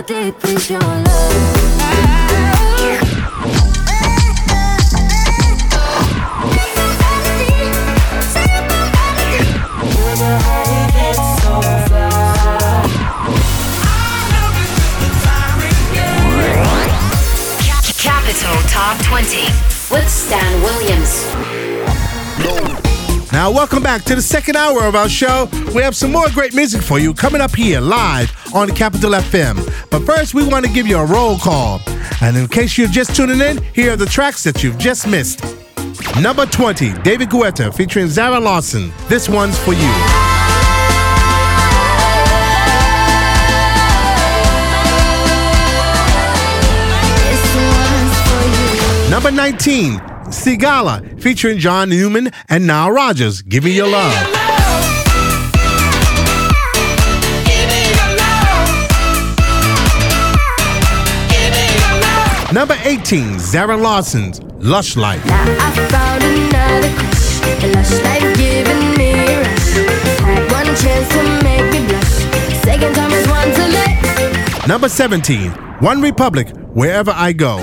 How deep is your love? Capital Top 20 with Stan Williams. Now, welcome back to the second hour of our show. We have some more great music for you coming up here live on Capital FM. But first, we want to give you a roll call. And in case you're just tuning in, here are the tracks that you've just missed. Number 20, David Guetta featuring Zara Larsson. This one's for you. Number 19, Sigala featuring John Newman and Nile Rodgers. Give me your love. Number 18, Zara Larsson's Lush Life. Now I found another crush, a lush life giving me a rush. Had one chance to make me blush. Second time is one to let. Number 17, One Republic, Wherever I Go.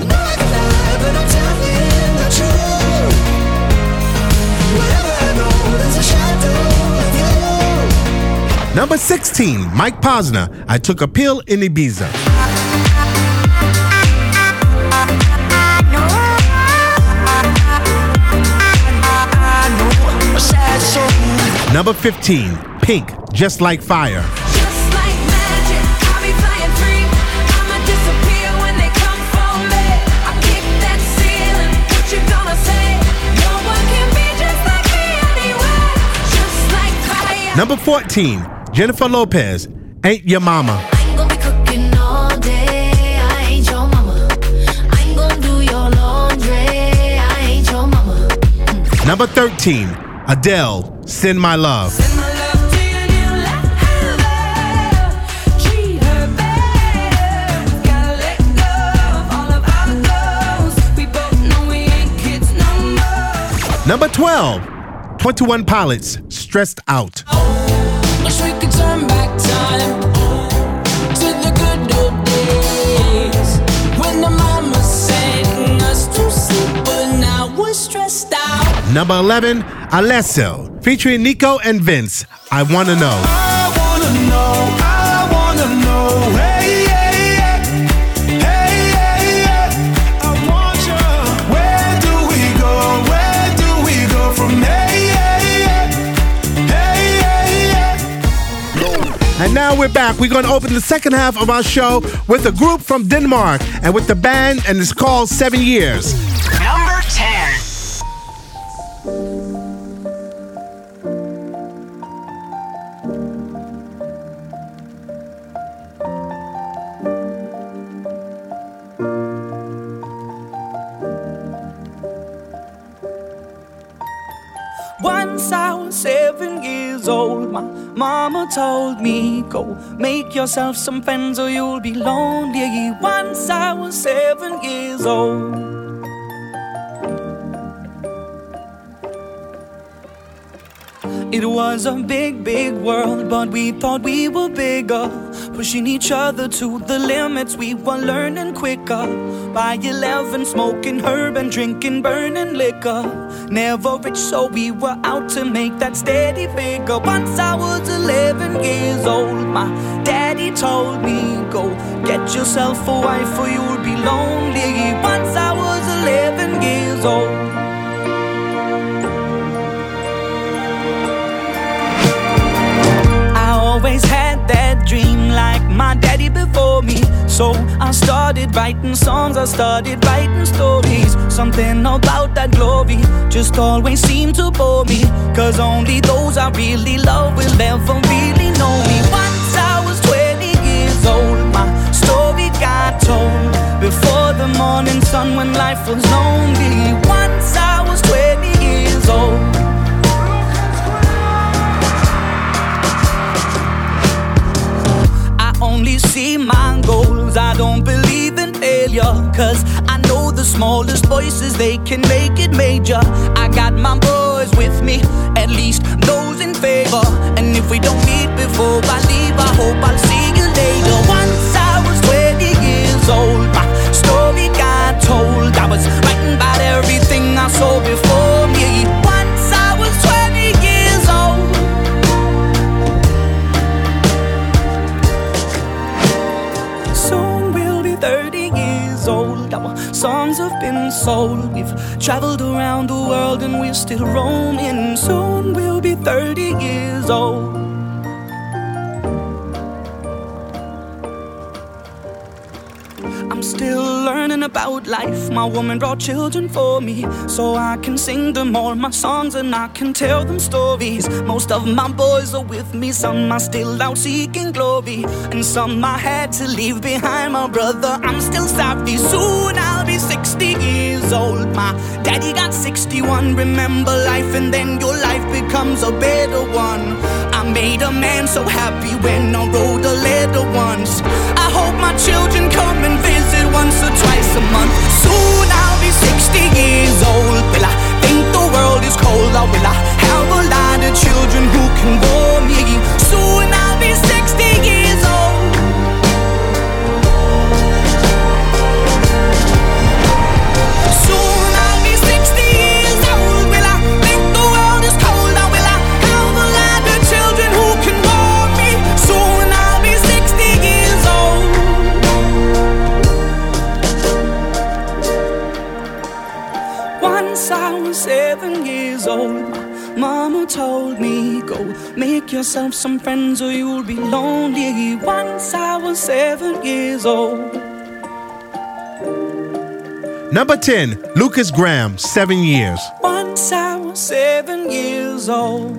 Number 16, Mike Posner, I Took a Pill in Ibiza. Number 15, Pink, Just Like Fire. Just like magic, I'll be flying free. I'ma disappear when they come for me. I kick that ceiling, what you gonna say? No one can be just like me anyway. Just like fire. Number 14, Jennifer Lopez, Ain't Your Mama. I ain't gonna be cooking all day. I ain't your mama. I ain't gonna do your laundry. I ain't your mama. Number 13, Adele, Send My Love. Send my love to your new lover. Treat her better. We gotta let go of all of our goals. We both know we ain't kids no more. Number 12, 21 Pilots, Stressed Out. Wish we could turn back time to the good old days when the mama sang us to sleep, but now we're stressed out. Number 11, Alessio, featuring Nico and Vince, I Wanna Know. I wanna know, hey, hey, hey, hey, hey, I want you. Where do we go from hey, hey, hey, hey, hey. And now we're back. We're going to open the second half of our show with a group from Denmark and with the band, and it's called 7 Years. Number 10. Once I was 7 years old, my mama told me, go make yourself some friends or you'll be lonely. Once I was 7 years old. It was a big, big world, but we thought we were bigger, pushing each other to the limits. We were learning quicker. By 11, smoking herb and drinking burning liquor. Never rich, so we were out to make that steady figure. Once I was 11 years old, my daddy told me, go get yourself a wife or you'll be lonely. Once I was 11 years old. Always had that dream like my daddy before me. So I started writing songs, I started writing stories. Something about that glory just always seemed to bore me, cause only those I really love will ever really know me. Once I was 20 years old, my story got told before the morning sun when life was lonely. Once I was 20 years old. Only see my goals, I don't believe in failure, cause I know the smallest voices, they can make it major. I got my boys with me, at least those in favor. And if we don't meet before I leave, I hope I'll see you later. Once I was 20 songs have been sold. We've traveled around the world and we're still roaming. Soon we'll be 30 years old. I'm still learning about life. My woman brought children for me, so I can sing them all my songs and I can tell them stories. Most of my boys are with me, some are still out seeking glory, and some I had to leave behind. My brother, I'm still sorry. Soon I'll be 60 years old. My daddy got 61. Remember life and then your life becomes a better one. I made a man so happy when I wrote a letter once. I hope my children come and visit once or twice a month. Soon I'll be 60 years old. Will I think the world is cold, or will I have a lot of children who can bore me? Soon I'll be 60 years old. Soon I'll be 60 years old. Will I think the world is cold, or will I have a lot of children who can bore me? Soon I'll be 60 years old. Once I was 7 years old, my mama told me, go make yourself some friends or you'll be lonely. Once I was 7 years old. Number 10, Lucas Graham, 7 years. Once I was 7 years old.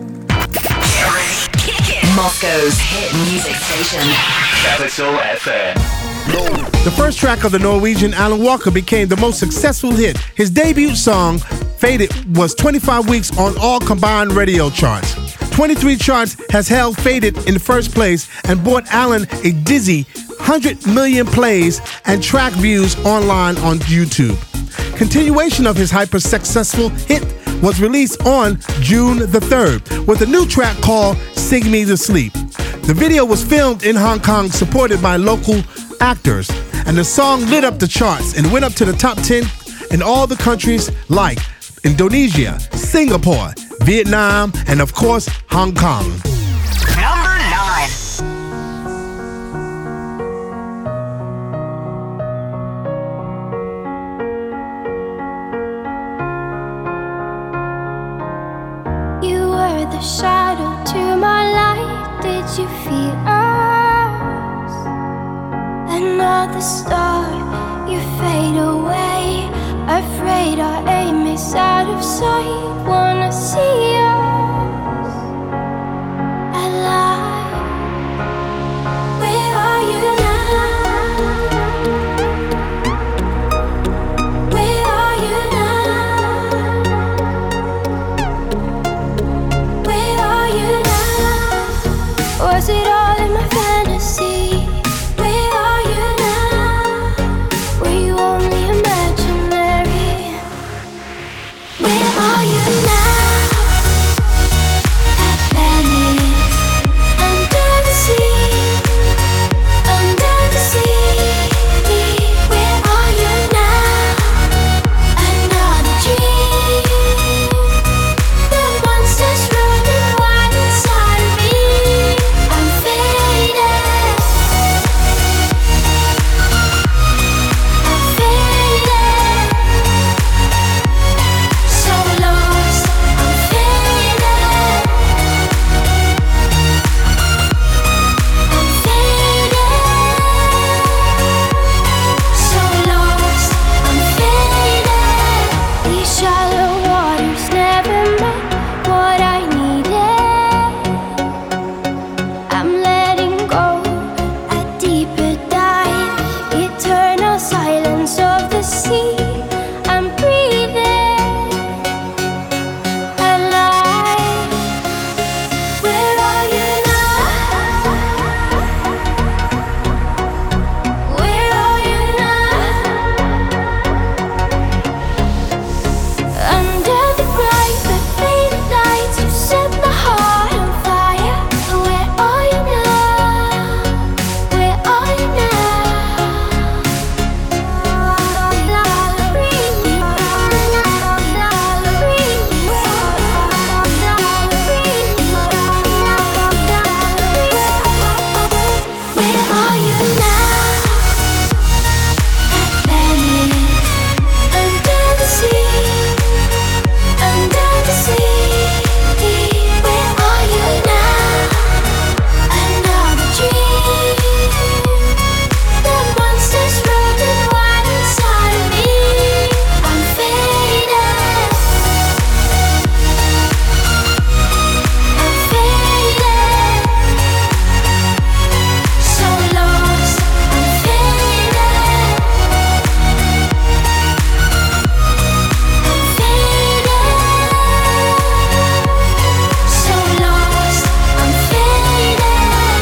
Moscow's hit music station. Capital FM. The first track of the Norwegian Alan Walker became the most successful hit. His debut song, Faded, was 25 weeks on all combined radio charts. 23 charts has held Faded in first place and brought Alan a dizzy 100 million plays and track views online on YouTube. Continuation of his hyper-successful hit was released on June the 3rd with a new track called Sing Me to Sleep. The video was filmed in Hong Kong, supported by local actors, and the song lit up the charts and went up to the top 10 in all the countries like Indonesia, Singapore, Vietnam, and of course, Hong Kong. Number 9. You were the shadow to my light. Did you feel us? Another star, you fade away. Afraid our aim is out of sight. Wanna see us alive. Where are you now? Where are you now? Where are you now? Was it all in my fantasy? Where are you now? Were you only imaginary? Where are you now? At Venice, under the sea, under the sea. Where are you now? Another dream. The monsters running wild inside of me. I'm fading.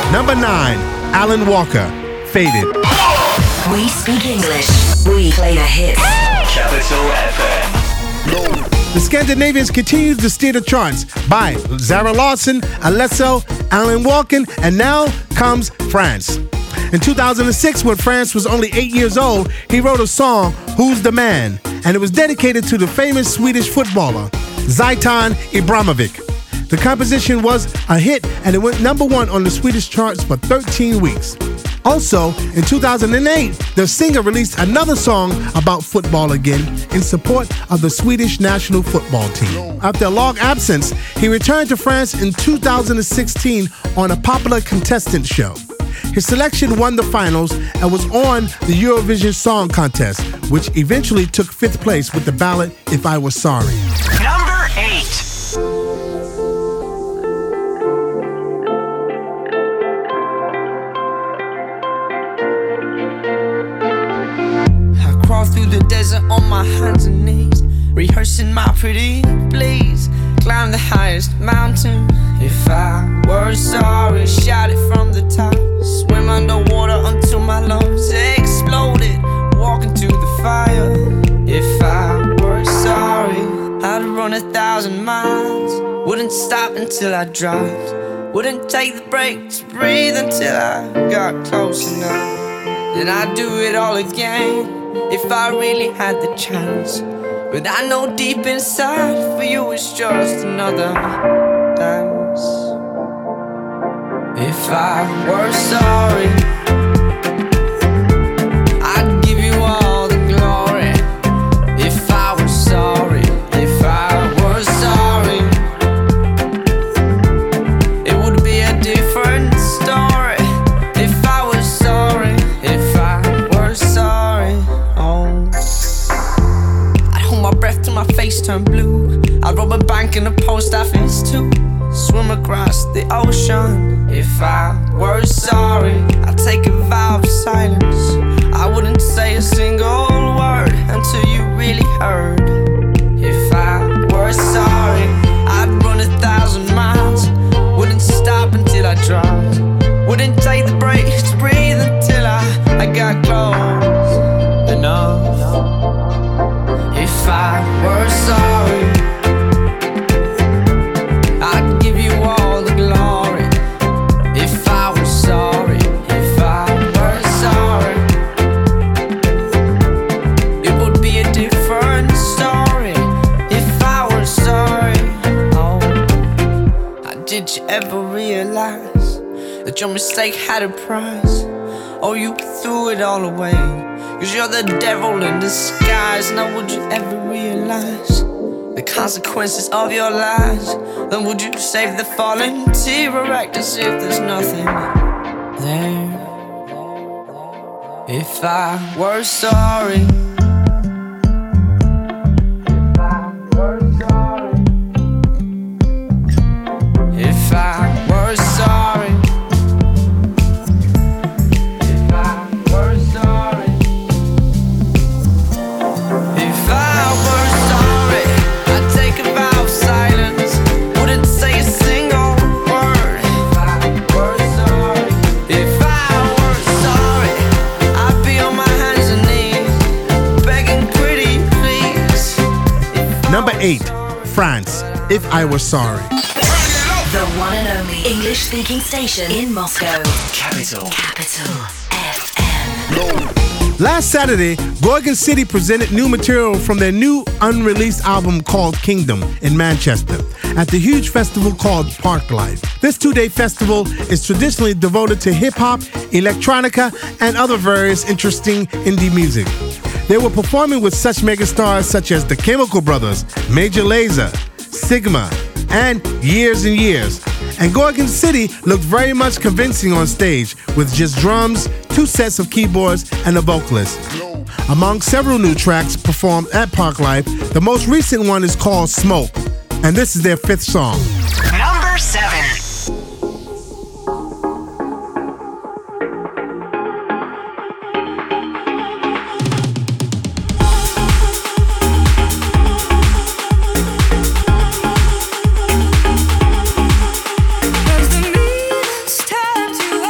Number 9, Alan Walker, Faded. We speak English. We play the hits. Capital FM. The Scandinavians continue to steer the charts by Zara Larsson, Alesso, Alan Walker, and now comes France. In 2006, when France was only 8 years old, he wrote a song, Who's the Man? And it was dedicated to the famous Swedish footballer, Zlatan Ibrahimovic. The composition was a hit and it went number 1 on the Swedish charts for 13 weeks. Also, in 2008, the singer released another song about football again in support of the Swedish national football team. After a long absence, he returned to France in 2016 on a popular contestant show. His selection won the finals and was on the Eurovision Song Contest, which eventually took 5th place with the ballad If I Was Sorry. Number 8. Through the desert on my hands and knees, rehearsing my pretty please. Climb the highest mountain. If I were sorry, shout it from the top. Swim underwater until my lungs exploded. Walk into the fire. If I were sorry, I'd run 1,000 miles. Wouldn't stop until I dropped. Wouldn't take the break to breathe until I got close enough. Then I'd do it all again if I really had the chance. But I know deep inside for you it's just another dance. If I were sorry, I'd give you all the glory. If I were sorry, if I were sorry, it would be a different story. If I was sorry, if I were sorry, I'd hold my breath till my face turned blue. I'd rob a bank and a post office too. Swim across the ocean. If I were sorry, I'd take a vow of silence. I wouldn't say a single word until you really heard. If I were sorry, I'd run 1,000 miles. Wouldn't stop until I dropped. Wouldn't take the break to breathe until I got close enough. If I were sorry, I'd give you all the glory. If I was sorry, if I were sorry, it would be a different story. If I were sorry, did you ever realize that your mistake had a price? Oh, you threw it all away, 'cause you're the devil in disguise. Now would you ever realize the consequences of your lies? Then would you save the fallen tear or act as if there's nothing there? If I were sorry, if I were sorry, if I were sorry, if I were sorry, I'd take a vow of silence. Wouldn't say a single word. If I were sorry, if I were sorry, I'd be on my hands and knees, begging pretty please. Number 8, France, If I Was Sorry. The one and only English-speaking station in Moscow. Capital. Capital FM. Last Saturday, Gorgon City presented new material from their new unreleased album called Kingdom in Manchester at the huge festival called Parklife. This 2-day festival is traditionally devoted to hip-hop, electronica, and other various interesting indie music. They were performing with such megastars such as the Chemical Brothers, Major Lazer, Sigma, and Years and Years. And Gorgon City looked very much convincing on stage with just drums, 2 sets of keyboards, and a vocalist. Among several new tracks performed at Parklife, the most recent one is called Smoke, and this is their 5th song. Number 7. As the means turn to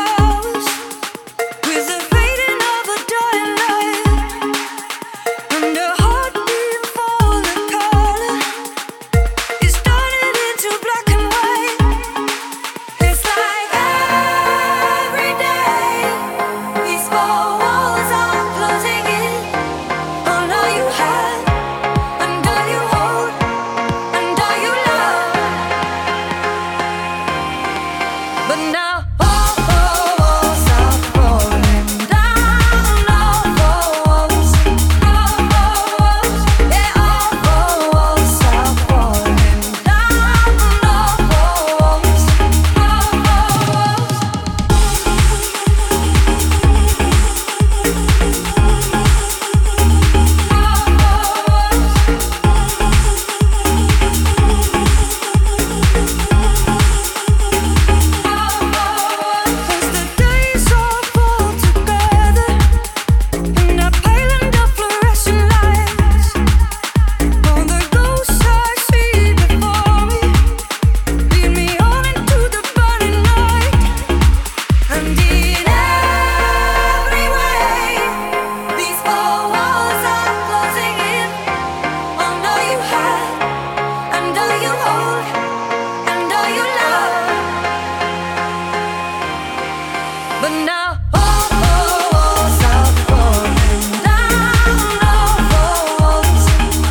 But now all walls are falling down. All walls,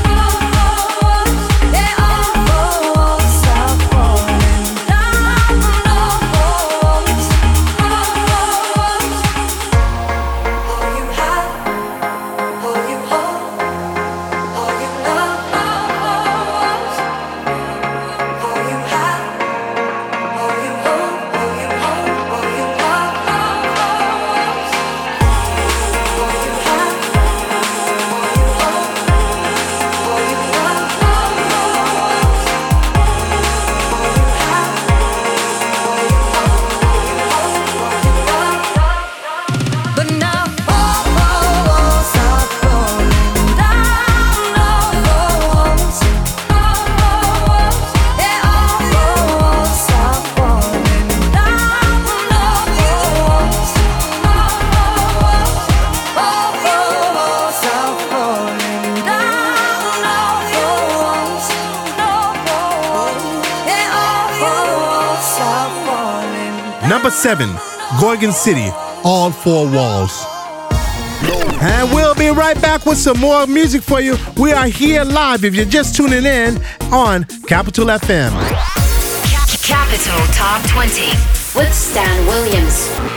yeah, all walls are falling down. All walls, all you have, all you hold, all you love, all you have, all you hold, all you hold, all you love, all you have, all you hold, all you love, but now all walls are falling down. All walls, yeah, all walls are falling down. All walls, all walls are falling down. All walls, yeah, all walls are falling down. Number 7, Gorgon City, All Four Walls. And we'll be right back with some more music for you. We are here live if you're just tuning in on Capital FM. Capital Top 20 with Stan Williams.